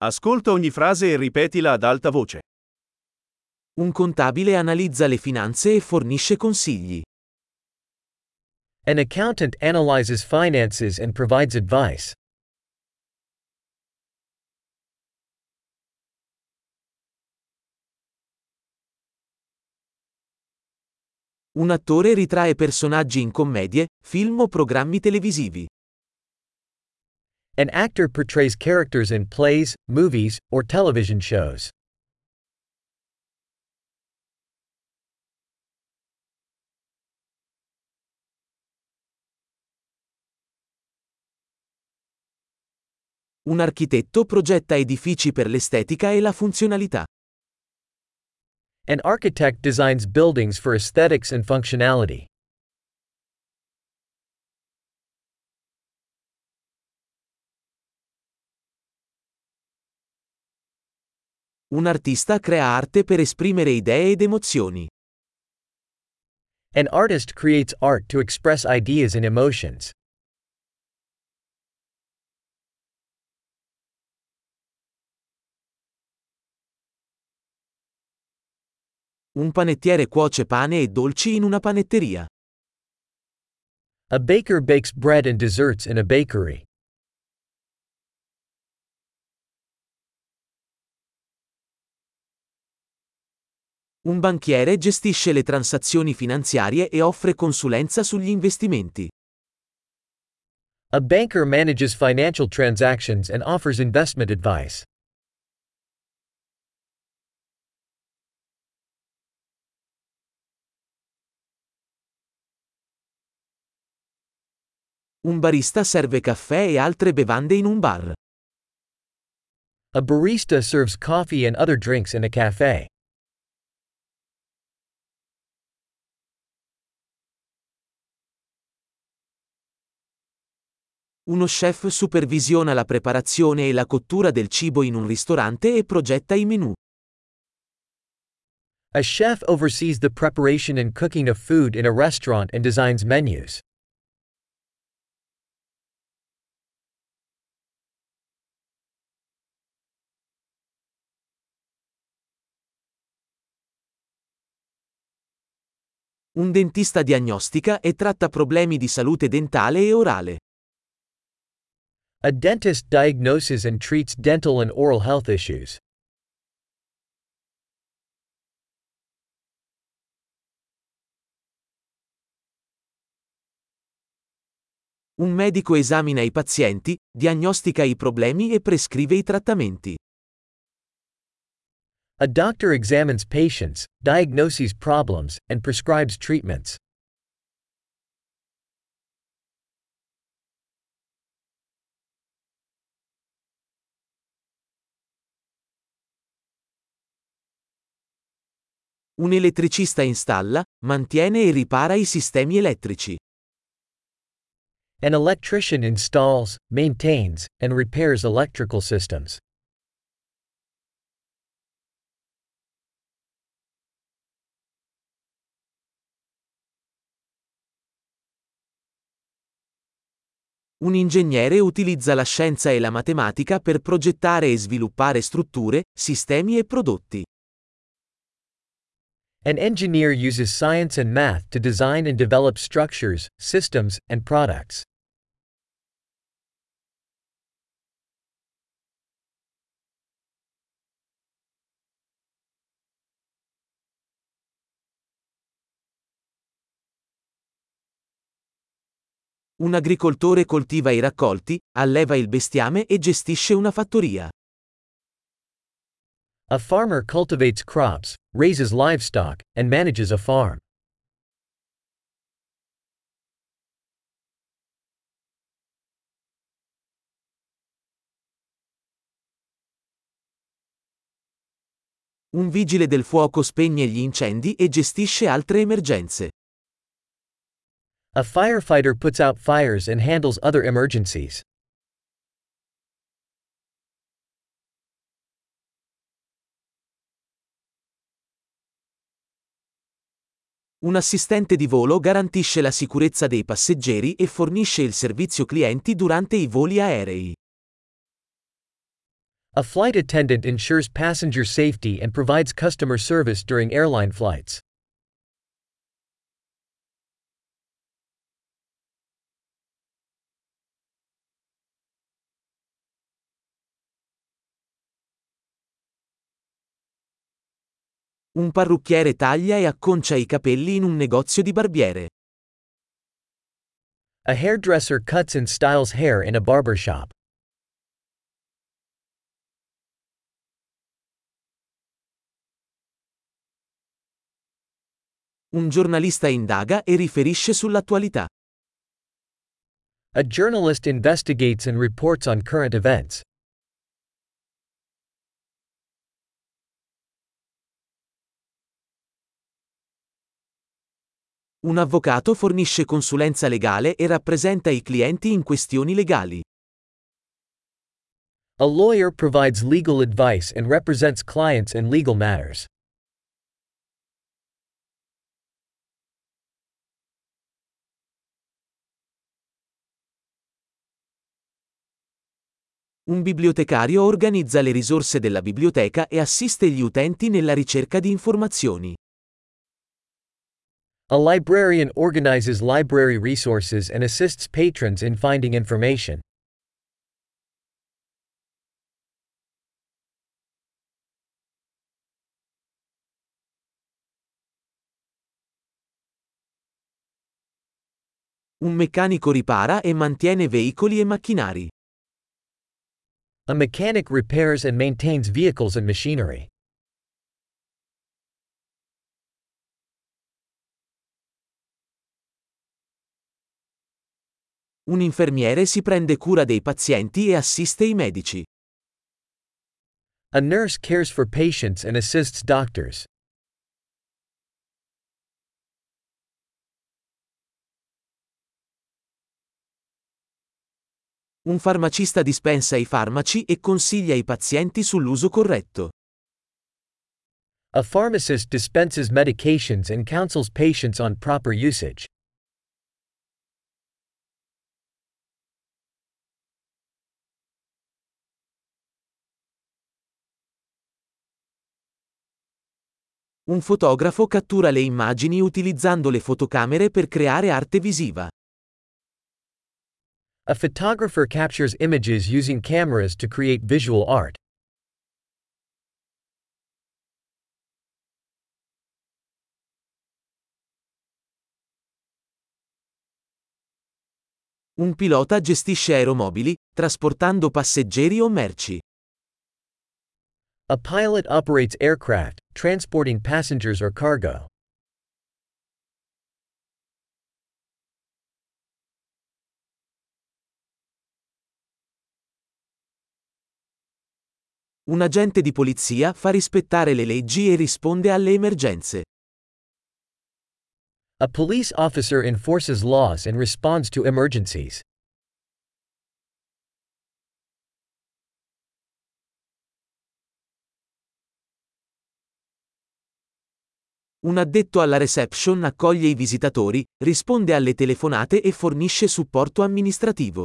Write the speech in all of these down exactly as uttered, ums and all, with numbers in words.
Ascolta ogni frase e ripetila ad alta voce. Un contabile analizza le finanze e fornisce consigli. An accountant analyzes finances and provides advice. Un attore ritrae personaggi in commedie, film o programmi televisivi. An actor portrays characters in plays, movies, or television shows. Un architetto progetta edifici per l'estetica e la funzionalità. An architect designs buildings for aesthetics and functionality. Un artista crea arte per esprimere idee ed emozioni. An artist creates art to express ideas and emotions. Un panettiere cuoce pane e dolci in una panetteria. A baker bakes bread and desserts in a bakery. Un banchiere gestisce le transazioni finanziarie e offre consulenza sugli investimenti. A banker manages financial transactions and offers investment advice. Un barista serve caffè e altre bevande in un bar. A barista serves coffee and other drinks in a cafe. Uno chef supervisiona la preparazione e la cottura del cibo in un ristorante e progetta i menù. A chef oversees the preparation and cooking of food in a restaurant and designs menus. Un dentista diagnostica e tratta problemi di salute dentale e orale. A dentist diagnoses and treats dental and oral health issues. Un medico esamina i pazienti, diagnostica i problemi e prescrive i trattamenti. A doctor examines patients, diagnoses problems, and prescribes treatments. Un elettricista installa, mantiene e ripara i sistemi elettrici. An electrician installs, maintains, and repairs electrical systems. Un ingegnere utilizza la scienza e la matematica per progettare e sviluppare strutture, sistemi e prodotti. An engineer uses science and math to design and develop structures, systems, and products. Un agricoltore coltiva i raccolti, alleva il bestiame e gestisce una fattoria. A farmer cultivates crops, raises livestock, and manages a farm. Un vigile del fuoco spegne gli incendi e gestisce altre emergenze. A firefighter puts out fires and handles other emergencies. Un assistente di volo garantisce la sicurezza dei passeggeri e fornisce il servizio clienti durante i voli aerei. A flight attendant ensures passenger safety and provides customer service during airline flights. Un parrucchiere taglia e acconcia i capelli in un negozio di barbiere. A hairdresser cuts and styles hair in a barber shop. Un giornalista indaga e riferisce sull'attualità. A journalist investigates and reports on current events. Un avvocato fornisce consulenza legale e rappresenta i clienti in questioni legali. A lawyer provides legal advice and represents clients in legal matters. Un bibliotecario organizza le risorse della biblioteca e assiste gli utenti nella ricerca di informazioni. A librarian organizes library resources and assists patrons in finding information. Un meccanico ripara e mantiene veicoli e macchinari. A mechanic repairs and maintains vehicles and machinery. Un infermiere si prende cura dei pazienti e assiste i medici. A nurse cares for patients and assists doctors. Un farmacista dispensa i farmaci e consiglia i pazienti sull'uso corretto. A pharmacist dispenses medications and counsels patients on proper usage. Un fotografo cattura le immagini utilizzando le fotocamere per creare arte visiva. A photographer captures images using cameras to create visual art. Un pilota gestisce aeromobili, trasportando passeggeri o merci. A pilot operates aircraft, transporting passengers or cargo. Un agente di polizia fa rispettare le leggi e risponde alle emergenze. A police officer enforces laws and responds to emergencies. Un addetto alla reception accoglie i visitatori, risponde alle telefonate e fornisce supporto amministrativo.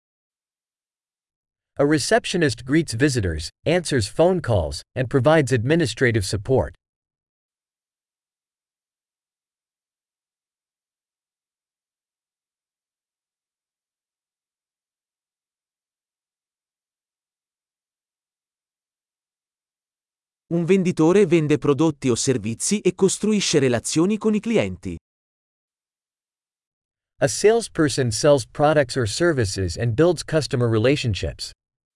A receptionist greets visitors, answers phone calls, and provides administrative support. Un venditore vende prodotti o servizi e costruisce relazioni con i clienti. A salesperson sells products or services and builds customer relationships.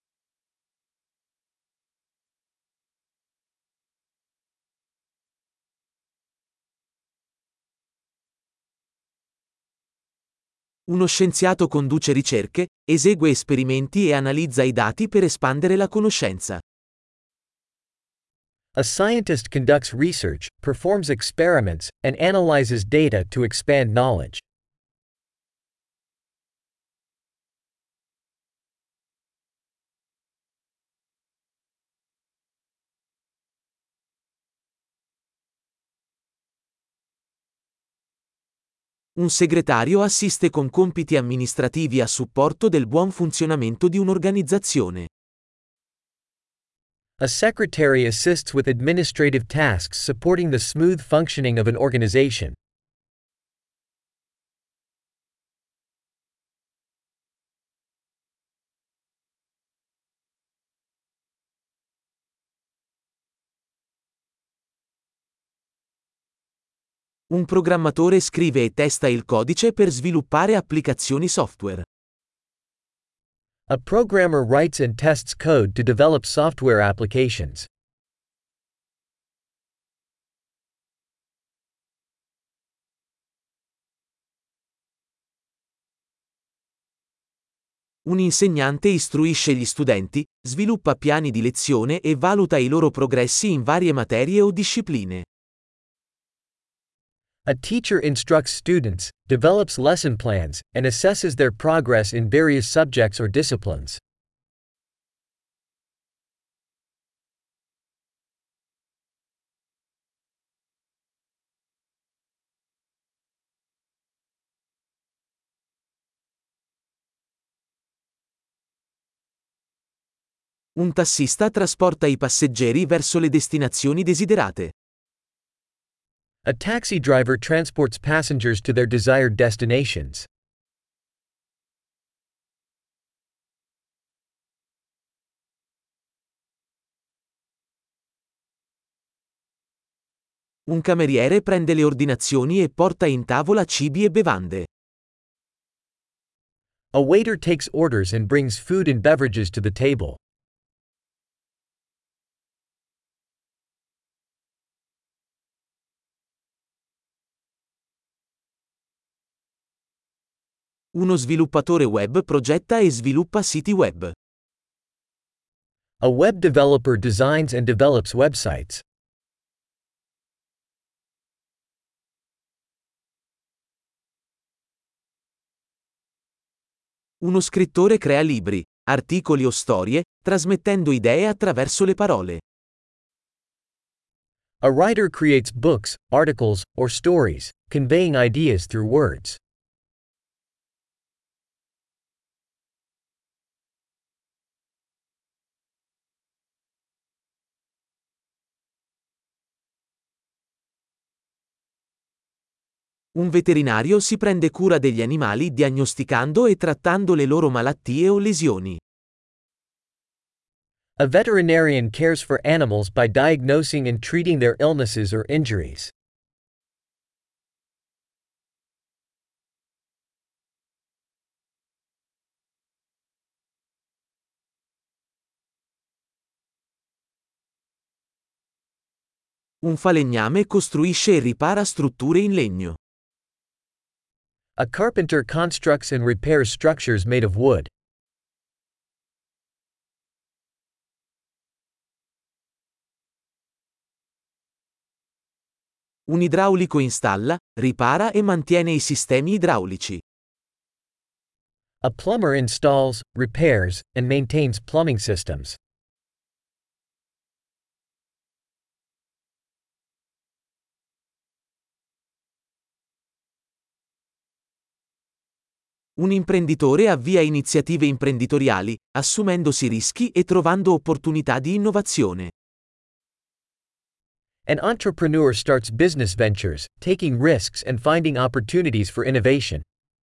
Uno scienziato conduce ricerche, esegue esperimenti e analizza i dati per espandere la conoscenza. A scientist conducts research, performs experiments, and analyzes data to expand knowledge. Un segretario assiste con compiti amministrativi a supporto del buon funzionamento di un'organizzazione. A secretary assists with administrative tasks supporting the smooth functioning of an organization. Un programmatore scrive e testa il codice per sviluppare applicazioni software. A programmer writes and tests code to develop software applications. Un insegnante istruisce gli studenti, sviluppa piani di lezione e valuta i loro progressi in varie materie o discipline. A teacher instructs students, develops lesson plans, and assesses their progress in various subjects or disciplines. Un tassista trasporta i passeggeri verso le destinazioni desiderate. A taxi driver transports passengers to their desired destinations. Un cameriere prende le ordinazioni e porta in tavola cibi e bevande. A waiter takes orders and brings food and beverages to the table. Uno sviluppatore web progetta e sviluppa siti web. A web developer designs and develops websites. Uno scrittore crea libri, articoli o storie, trasmettendo idee attraverso le parole. A writer creates books, articles, or stories, conveying ideas through words. Un veterinario si prende cura degli animali diagnosticando e trattando le loro malattie o lesioni. A veterinarian cares for animals by diagnosing and treating their illnesses or injuries. Un falegname costruisce e ripara strutture in legno. A carpenter constructs and repairs structures made of wood. Un idraulico installa, ripara e mantiene i sistemi idraulici. A plumber installs, repairs, and maintains plumbing systems. Un imprenditore avvia iniziative imprenditoriali, assumendosi rischi e trovando opportunità di innovazione. An entrepreneur starts business ventures, taking risks and finding opportunities for innovation.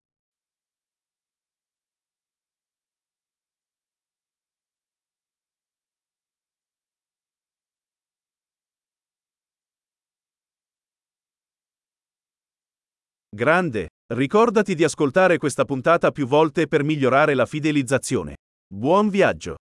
Grande! Ricordati di ascoltare questa puntata più volte per migliorare la fidelizzazione. Buon viaggio!